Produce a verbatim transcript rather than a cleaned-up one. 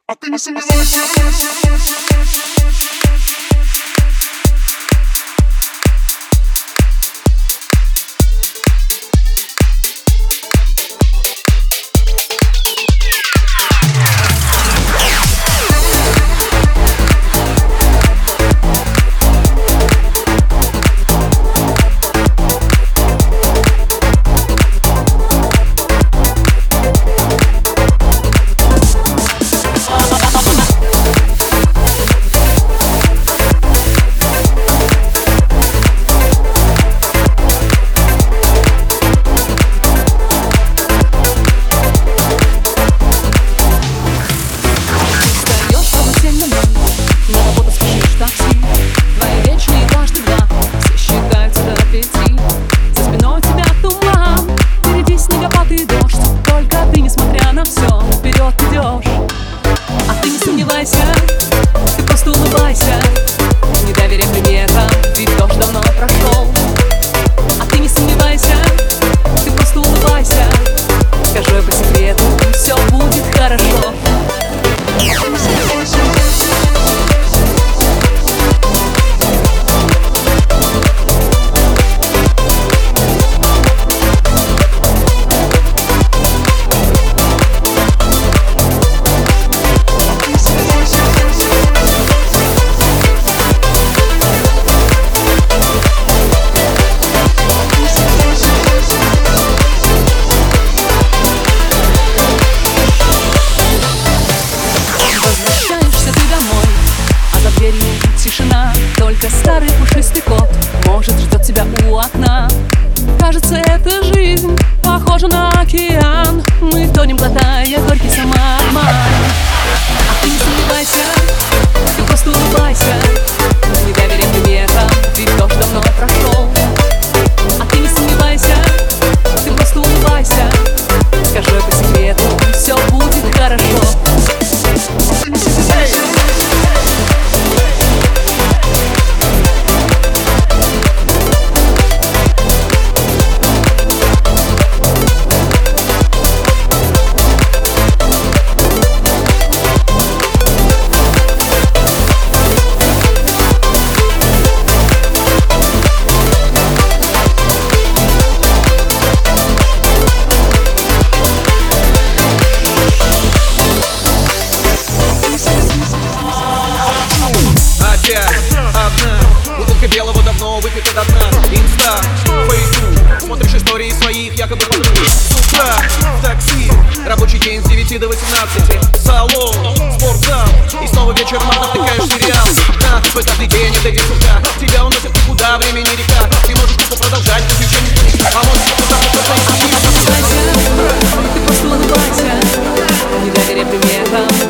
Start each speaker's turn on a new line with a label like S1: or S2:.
S1: А ты не сомневайся.
S2: Ты просто улыбайся, не доверяй приметам, ведь дождь давно прошел. А ты не сомневайся, ты просто улыбайся. Скажи по секрету, все будет хорошо. Тишина, только старый пушистый кот может ждет тебя у окна. Кажется, эта жизнь похожа на океан. Мы тонем, глотая горький самообман. А ты не сомневайся, ты просто улыбайся, не доверяй приметам, ведь дождь давно прошел. А ты не сомневайся, ты просто улыбайся. Скажи по секрету, все будет хорошо.
S3: Одна бутылка белого давно выпита до дна. Инста, фейсбук, смотришь истории своих якобы подруг. С утра в такси, рабочий день с девяти до восемнадцати. Салон, спортзал, и снова вечер натыкаешь сериал. На свой каждый день, это где сурка. Тебя уносят никуда, времени река. Ты можешь тупо продолжать, но ничего не будет. А может кто-то просто
S2: Ты просто улыбайся, не доверяй приметам.